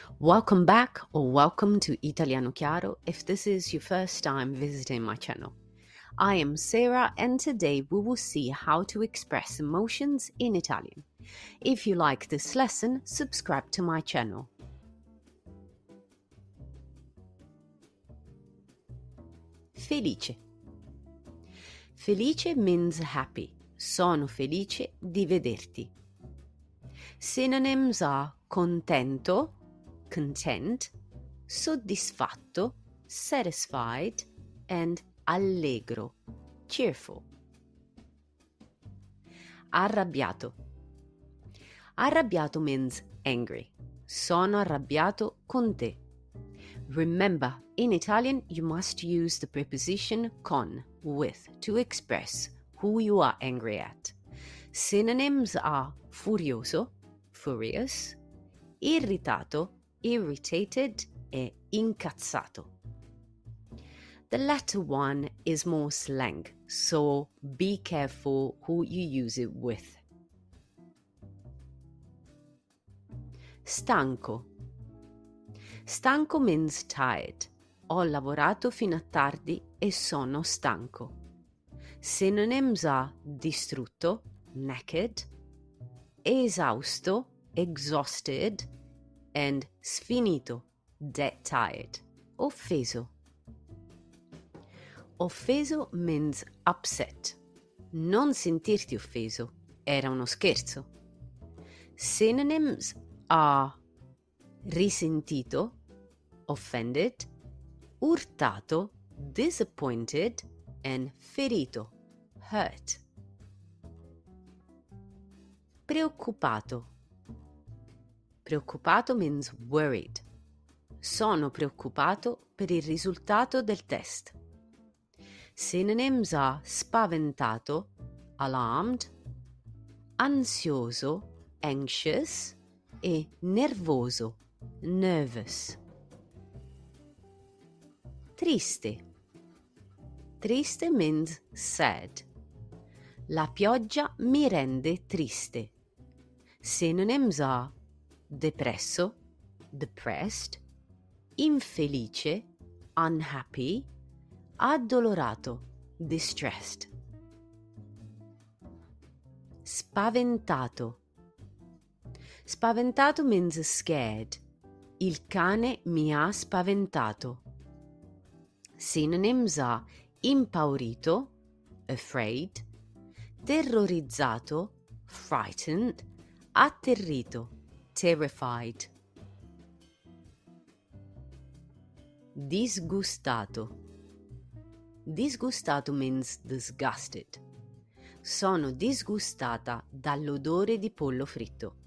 Welcome back or welcome to Italiano Chiaro if this is your first time visiting my channel. I am Sarah and today we will see how to express emotions in Italian. If you like this lesson, subscribe to my channel. Felice. Felice means happy. Sono felice di vederti. Synonyms are contento, content, soddisfatto, satisfied, and allegro, cheerful. Arrabbiato. Arrabbiato means angry. Sono arrabbiato con te. Remember, in Italian you must use the preposition con, with, to express who you are angry at. Synonyms are furioso, furious, irritato, irritated, e incazzato. The latter one is more slang, so be careful who you use it with. Stanco. Stanco means tired. Ho lavorato fino a tardi e sono stanco. Synonyms are distrutto, naked, esausto, exhausted, and sfinito, dead tired. Offeso. Offeso means upset. Non sentirti offeso, era uno scherzo. Synonyms are risentito, offended, urtato, disappointed, and ferito, hurt. Preoccupato. Preoccupato means worried. Sono preoccupato per il risultato del test. Synonyms are spaventato, alarmed, ansioso, anxious, e nervoso, nervous. Triste. Triste means sad. La pioggia mi rende triste. Synonyms are depresso, depressed, infelice, unhappy, addolorato, distressed. Spaventato. Spaventato means scared. Il cane mi ha spaventato. Synonyms are impaurito, afraid, terrorizzato, frightened, atterrito, terrified. Disgustato. Disgustato means disgusted. Sono disgustata dall'odore di pollo fritto.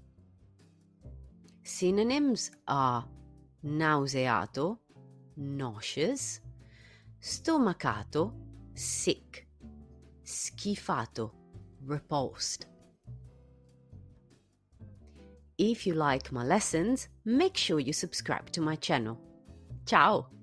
Synonyms are nauseato, nauseous, stomacato, sick, schifato, repulsed. If you like my lessons, make sure you subscribe to my channel. Ciao!